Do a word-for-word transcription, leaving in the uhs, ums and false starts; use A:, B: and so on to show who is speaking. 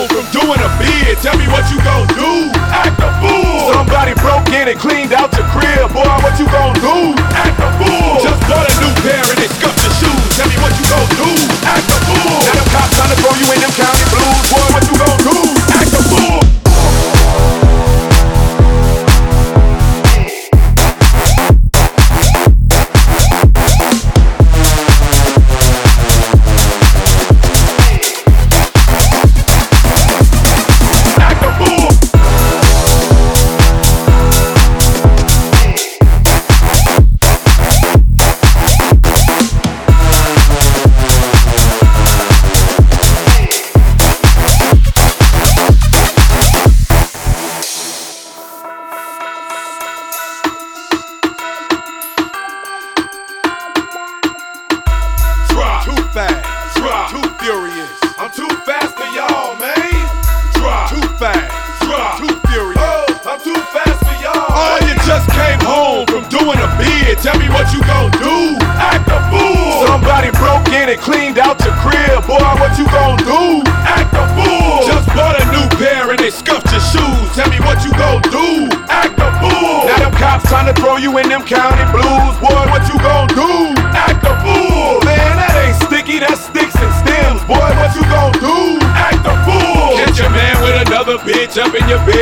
A: home from doing a bid. Tell me what you gon' do? Act a fool. Somebody broke in and cleaned out your crib. Boy, what you gon' do? Act a fool. Just bought a new pair and they scuffed your shoes. Tell me what you gon' do? Act a fool. Now them cops trying to throw you in them county blues. Boy, what you gon' do? Act a fool. Too fast, drop, too furious. I'm too fast for y'all, man. Drop, too fast, drop, too furious. Oh, I'm too fast for y'all. Oh, you just came home from doing a bid. Tell me what you gon' do? Act a fool. Somebody broke in and cleaned out your crib. Boy, what you gon' do? Act a fool. Just bought a new pair and they scuffed your shoes. Tell me what you gon' do? Act a fool. Now them cops trying to throw you in them county blues. Boy, what you gon' do? Act a fool. Man, that ain't sticky, that's sticks and stems. Boy, what you gon' do? Act a fool. Catch your man with another bitch up in your bed.